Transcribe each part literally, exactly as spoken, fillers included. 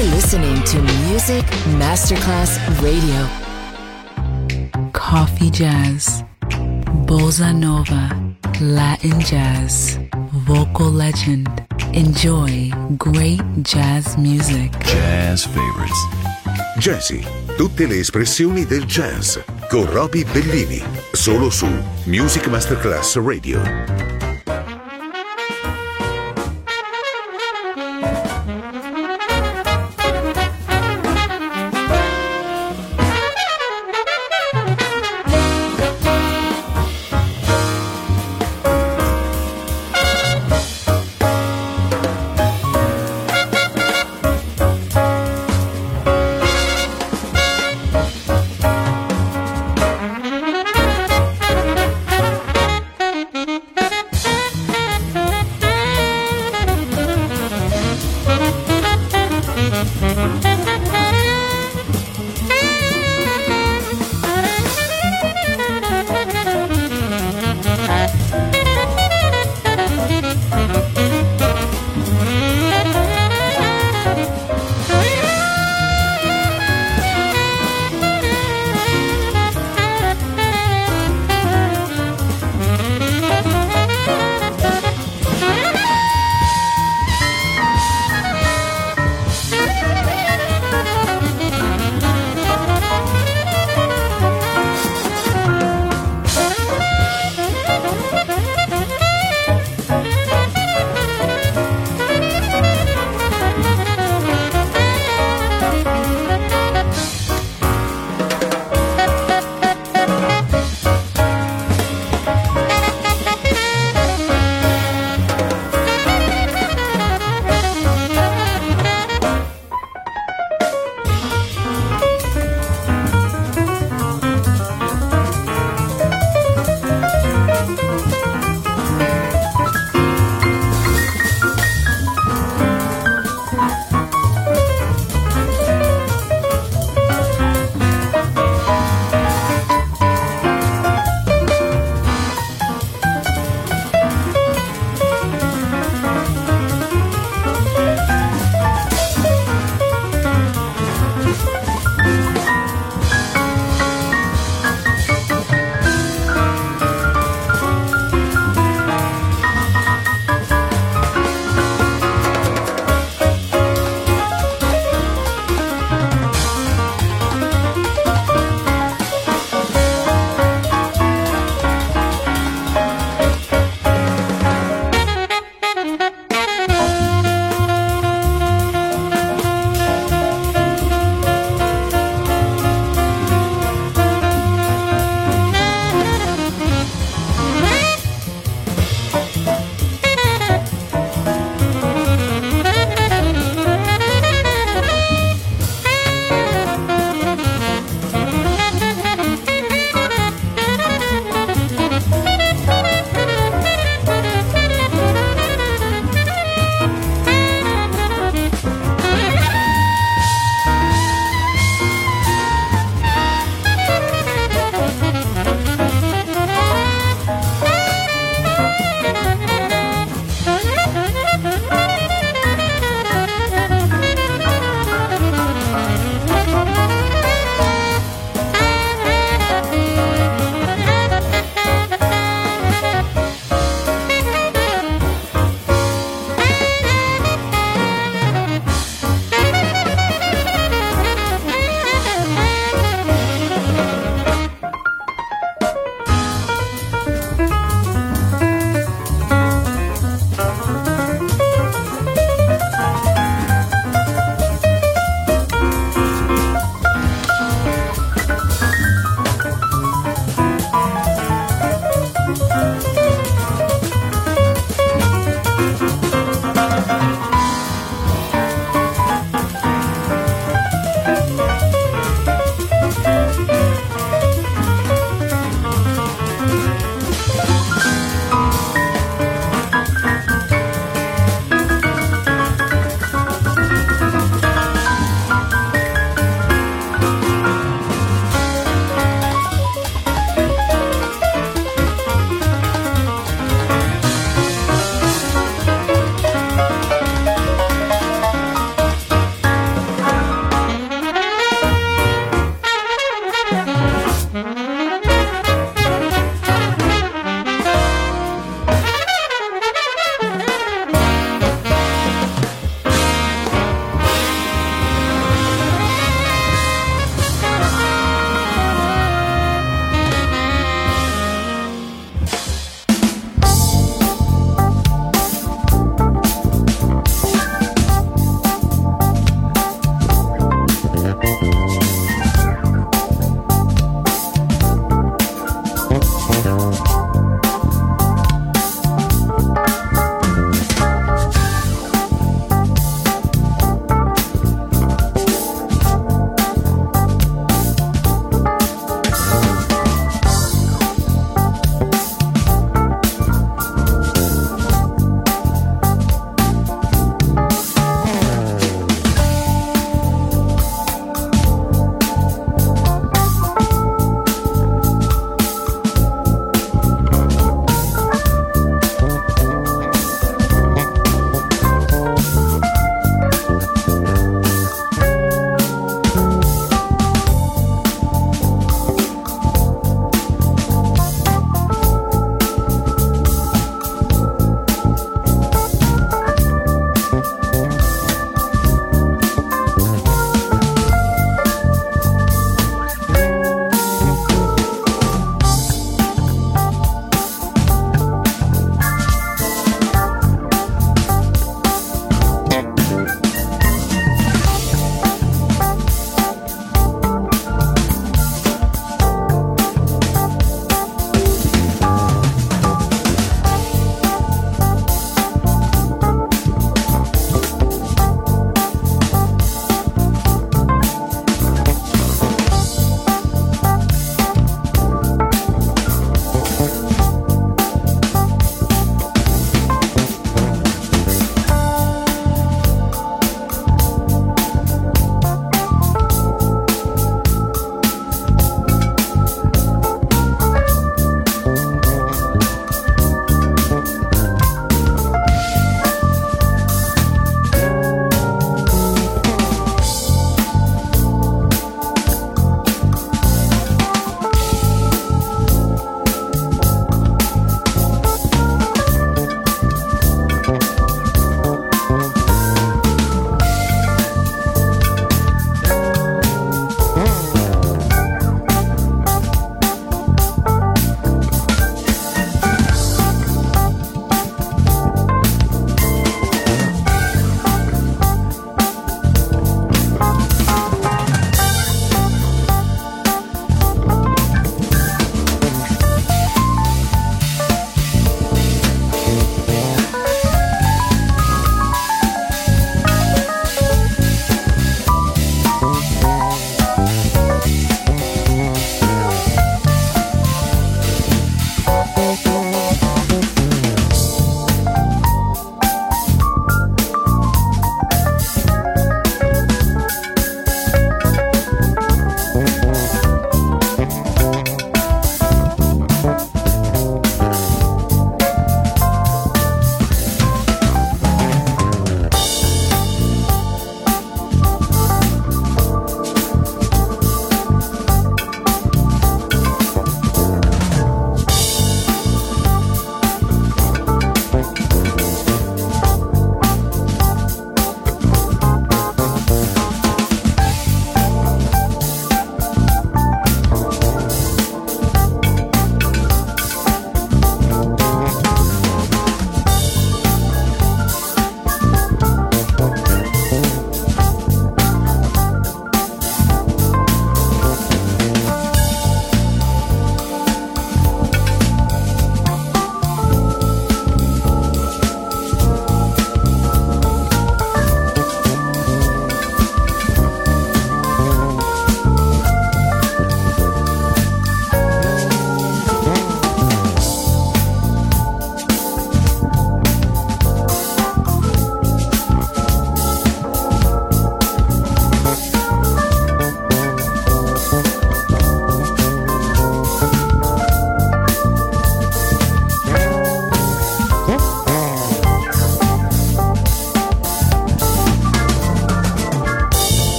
You're listening to Music Masterclass Radio. Coffee jazz, bossa nova, Latin jazz, vocal legend. Enjoy great jazz music. Jazz favorites. Jazzy, tutte le espressioni del jazz con Roby Bellini, solo su Music Masterclass Radio.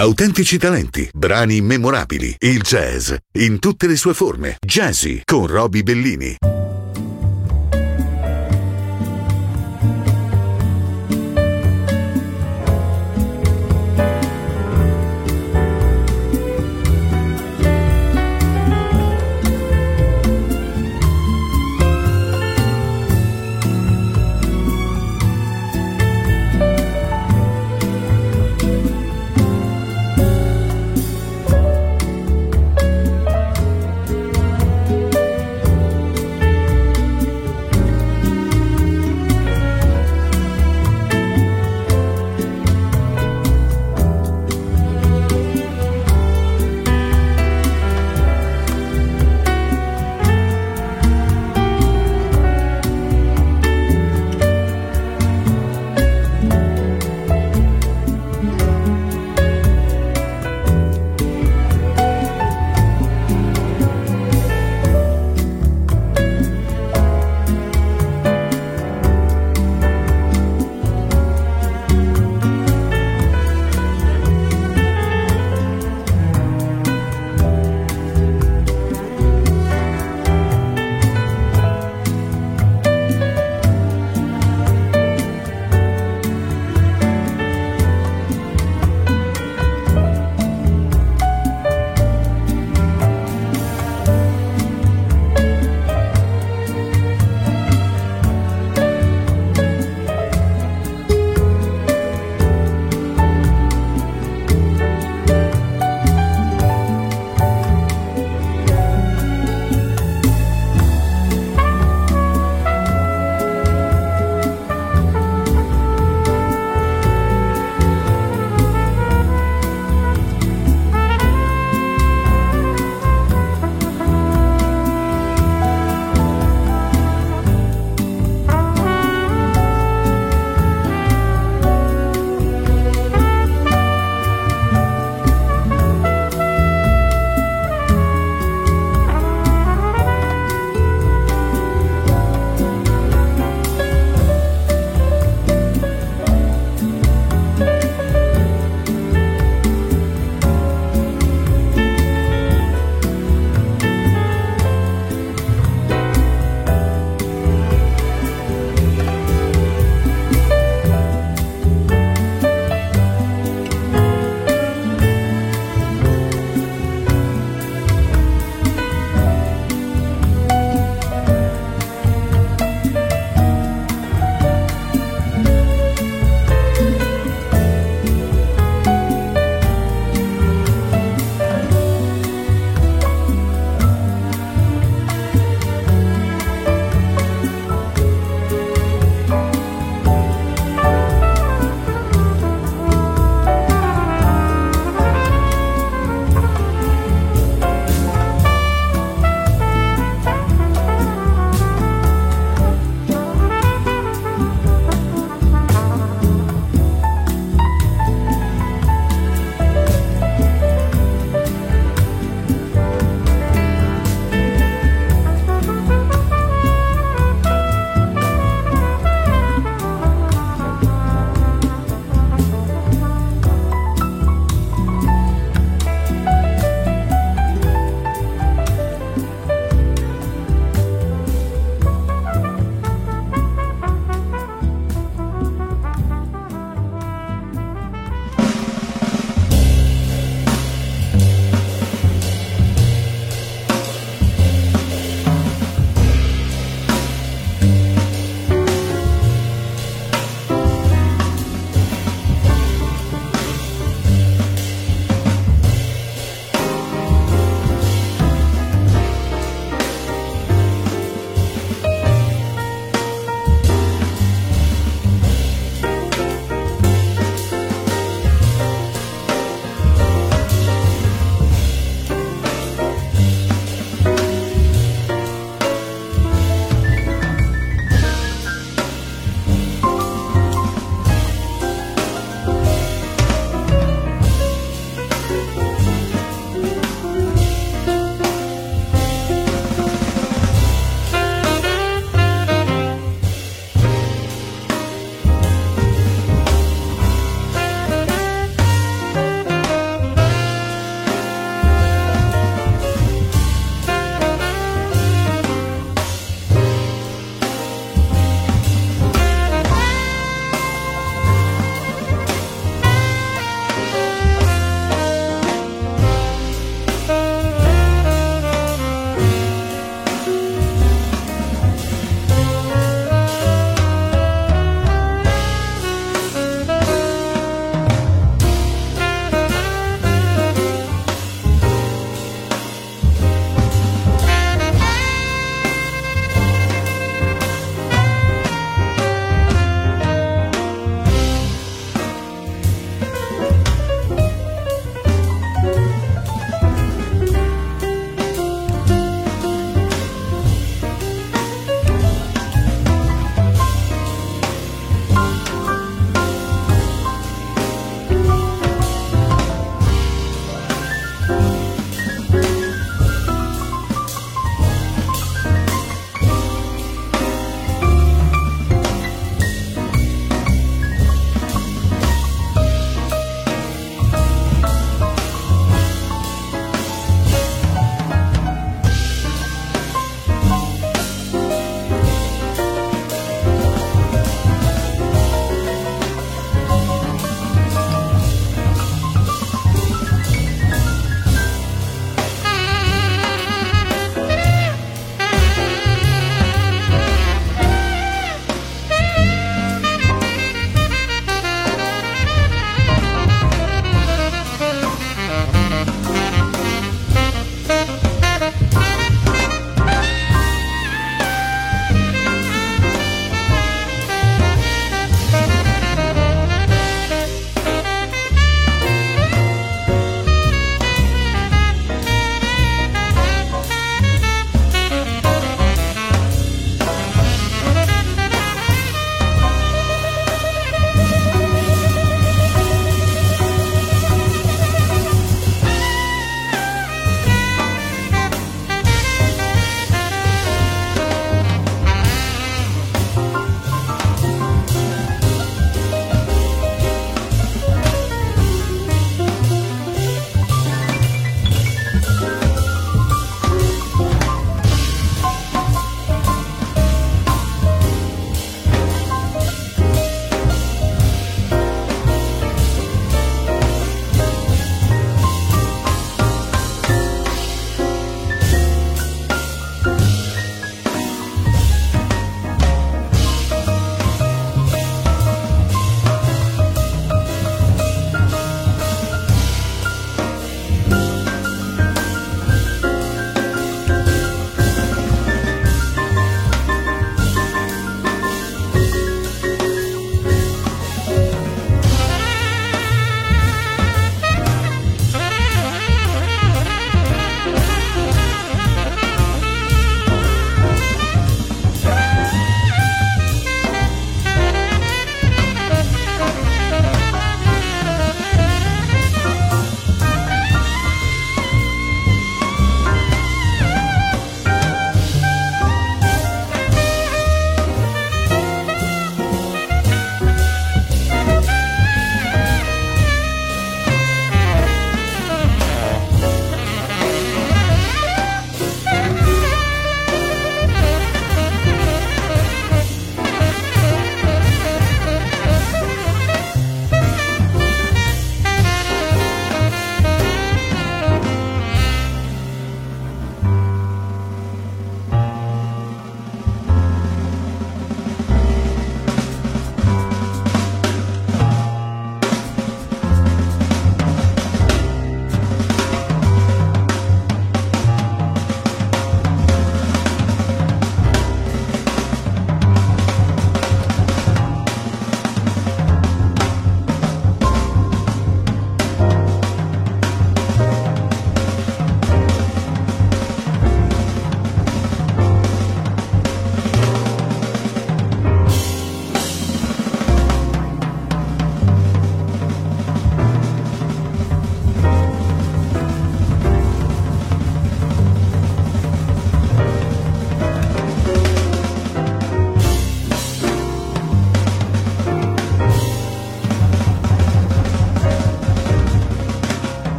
Autentici talenti, brani immemorabili, il jazz in tutte le sue forme. Jazzy con Roby Bellini.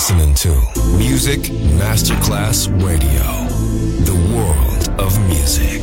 listening to Music Masterclass Radio, the world of music.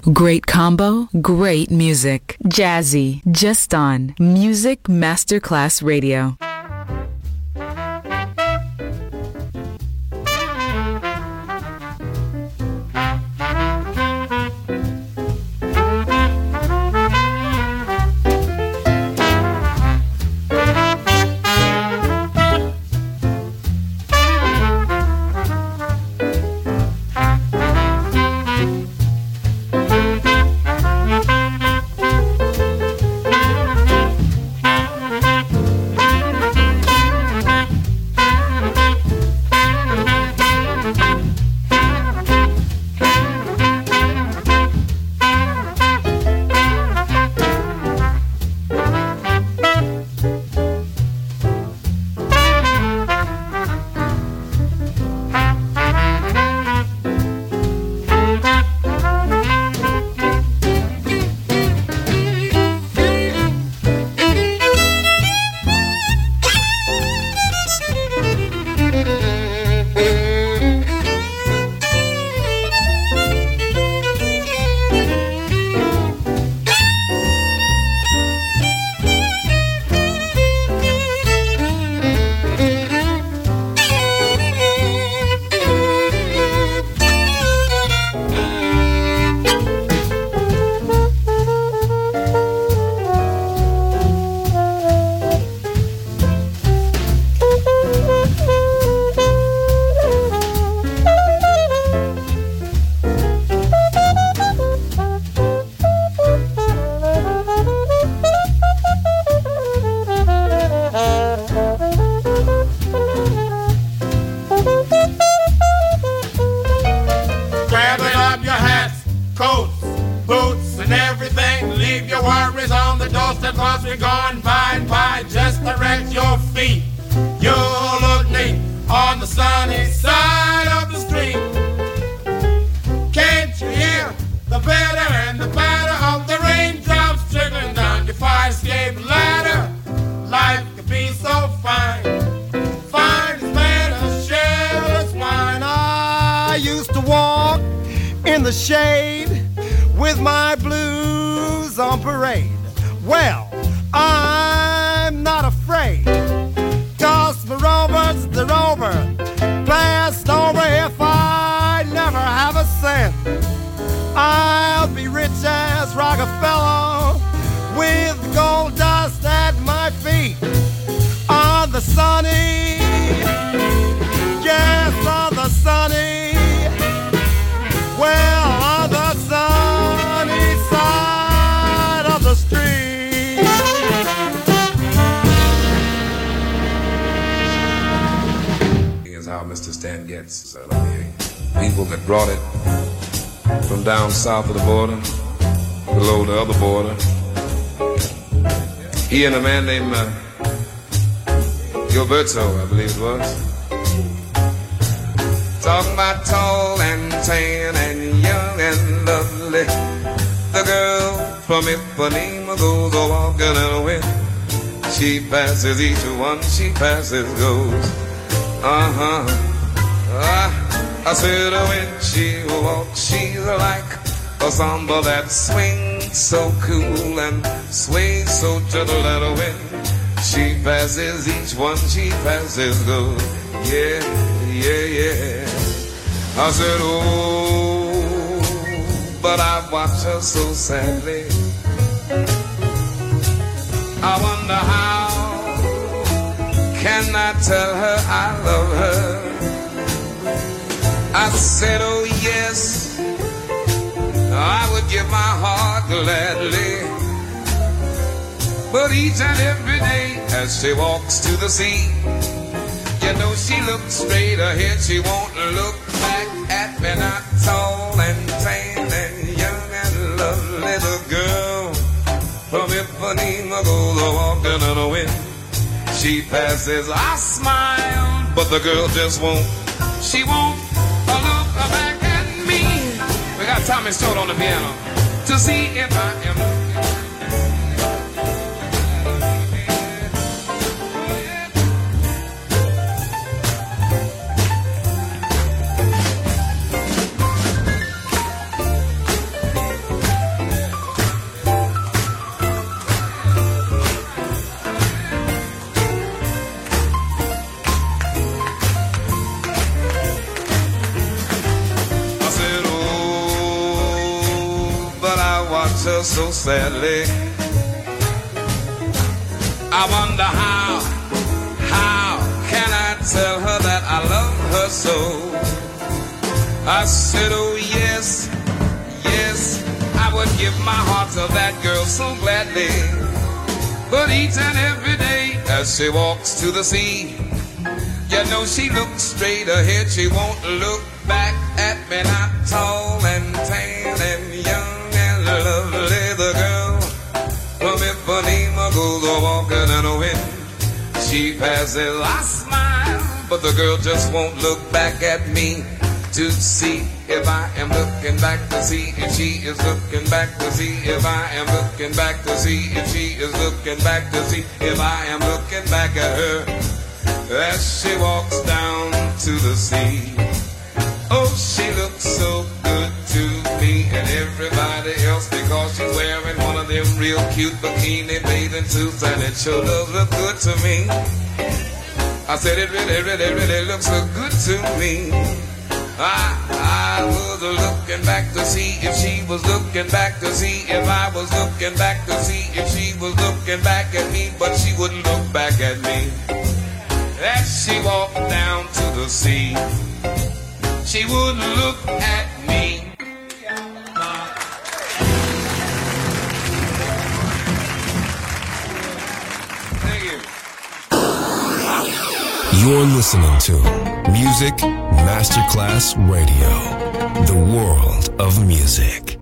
Great combo, great music. Jazzy, just on Music Masterclass Radio. South of the border, below the other border. He and a man named uh, Gilberto, I believe it was. Talking about tall and tan and young and lovely. The girl from Ipanema goes a walking in a wind. She passes each one, she passes goes. Uh-huh. Uh, I said when she walks, she's like a samba that swings so cool and sways so gentle at a wind. She passes each one, she passes goes. Yeah, yeah, yeah. I said, oh, but I watch her so sadly. I wonder how can I tell her I love her. I said, oh yes, I would give my heart gladly. But each and every day as she walks to the sea, you know she looks straight ahead, she won't look back at me. Not tall and tan and young and lovely. The girl from Ipanema goes a walking in the wind. She passes, I smile, but the girl just won't. She won't look back at me. We got Tommy Stone on the piano to see if I am looking. watch her so sadly. I wonder how, how can I tell her that I love her so? I said, oh yes, yes, I would give my heart to that girl so gladly. But each and every day as she walks to the sea, you know she looks straight ahead, she won't look back at me. Not tall and tan and young and lovely, the girl from Ipanema goes a walking in the wind. She passes, I smile, but the girl just won't look back at me to see if I am looking back to see if she is looking back to see if I am looking back to see if she is looking back to see if I am looking back at her as she walks down to the sea. Oh, she looks so good to me and everybody else because she's wearing one of them real cute bikini bathing suits, and it sure does look good to me. I said it really, really, really looks so good to me. I, I was looking back to see if she was looking back to see if I was looking back to see if she was looking back at me, but she wouldn't look back at me. As she walked down to the sea, she wouldn't look at me. Thank you. You're listening to Music Masterclass Radio, the world of music.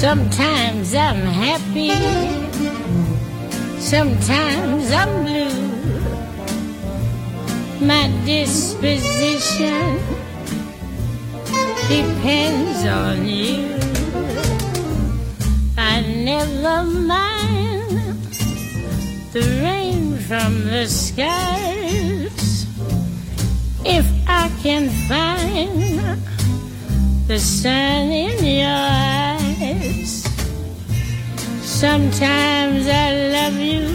Sometimes I'm happy, sometimes I'm blue. My disposition depends on you. I never mind the rain from the skies if I can find the sun in your eyes. Sometimes I love you,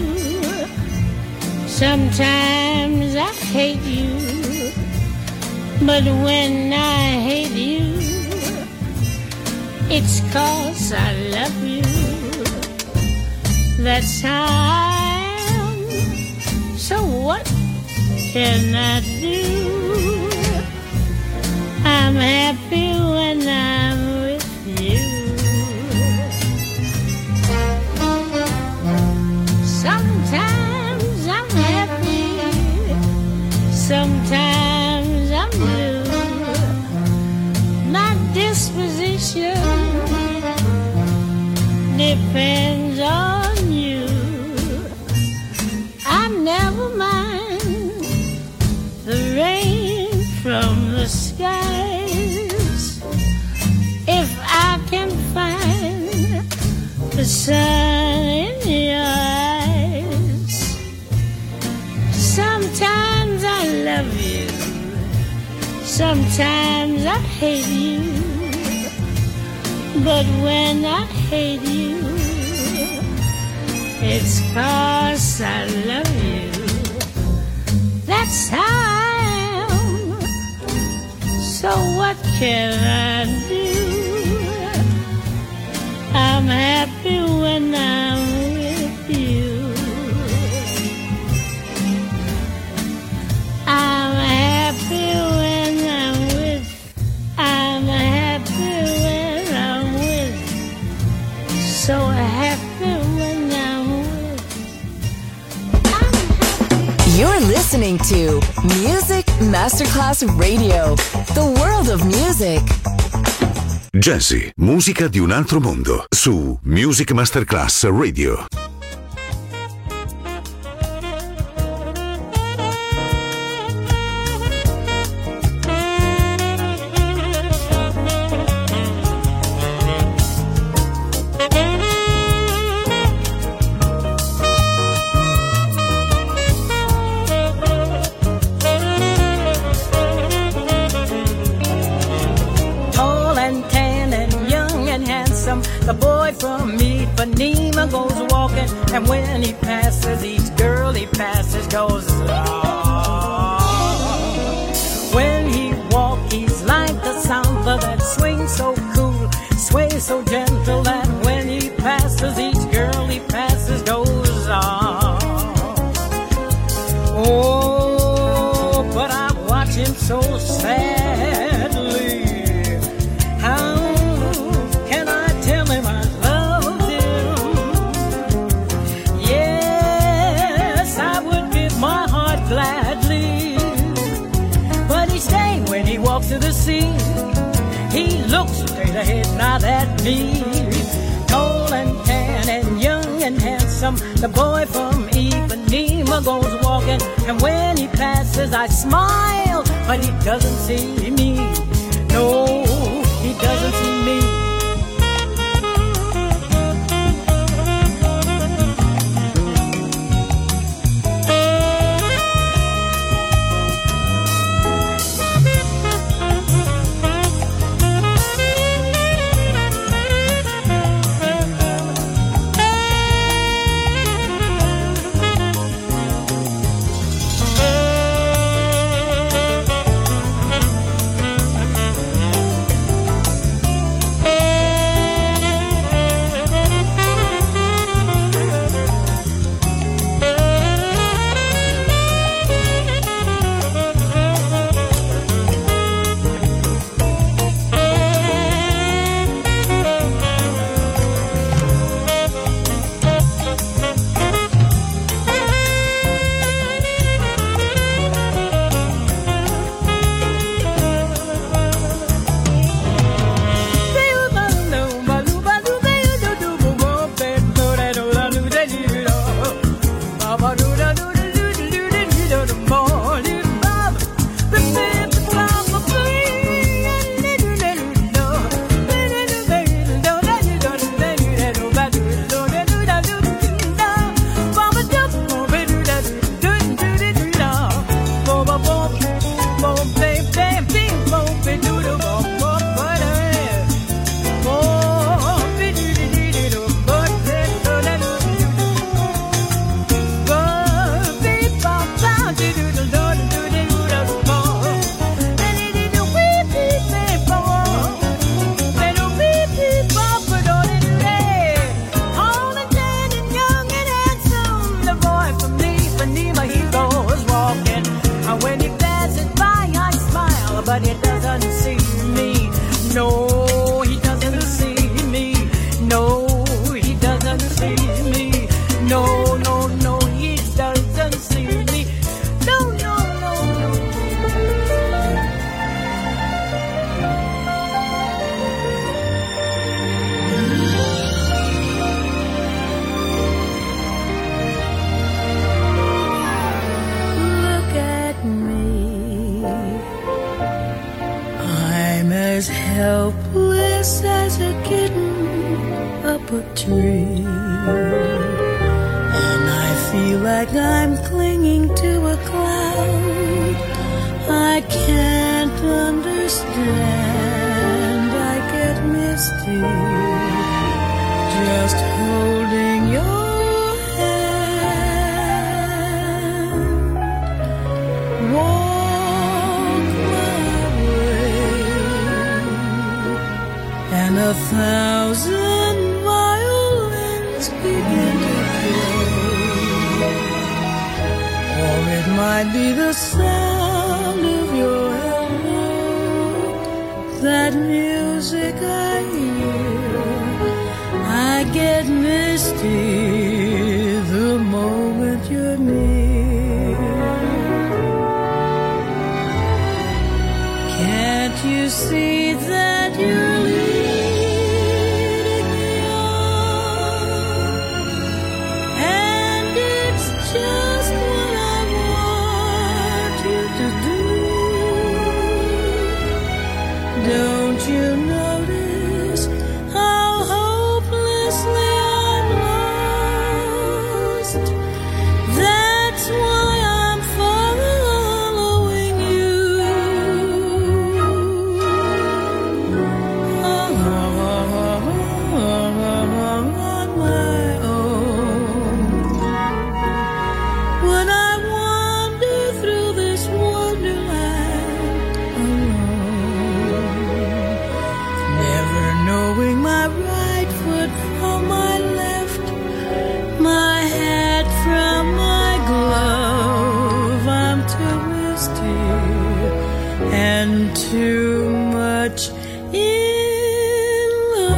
sometimes I hate you, but when I hate you, it's 'cause I love you. That's how I am. So what can I do? I'm happy when I'm with you. Sometimes I'm happy, sometimes I'm blue. My disposition depends on you. I never mind the rain from the skies if I can find the sun in your eyes. Sometimes I love you, sometimes I hate you, but when I hate you, it's 'cause I love you. That's how I am. So what can I do? I'm happy when I'm with you. I'm happy when I'm with. I'm happy when I'm with. So happy when I'm with. I'm happy. You're listening to Music Masterclass Radio, the world of music. Jazzy, musica di un altro mondo, su Music Masterclass Radio. The boy from Ipanema goes walking, and when he passes, each girl he passes goes, oh. When he walks, he's like the samba that swings so cool, sways so gentle that when he passes, each girl he passes goes, oh. Oh, but I watch him so sadly. To the sea, he looks straight ahead, not at me. Tall and tan and young and handsome, the boy from Ipanema goes walking, and when he passes I smile, but he doesn't see me. No, he doesn't see me. helpless as a kitten up a tree, and I feel like I'm clinging to a cloud. I can't understand, I get misty just holding your hand. Walk my way, and a thousand violins begin to play, or it might be the sound of your hello, that music I hear. I get misty the moment you're near. Can't you see that you're leading me on? And it's just what I want you to do. Don't you notice how hopelessly I'm lost? That's why I'm following you. On my own. When I wander through this wonderland alone, never knowing my right foot from my left, my hat from my glove. I'm too misty and too much in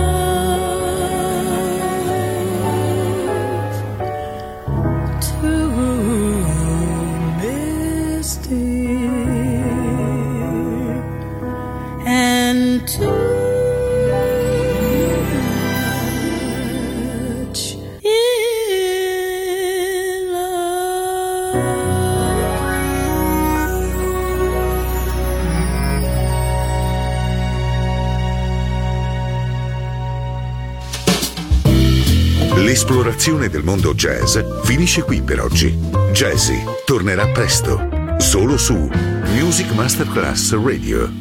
love, too misty and too much in love. L'esplorazione del mondo jazz finisce qui per oggi. Jazzy tornerà presto, solo su Music Masterclass Radio.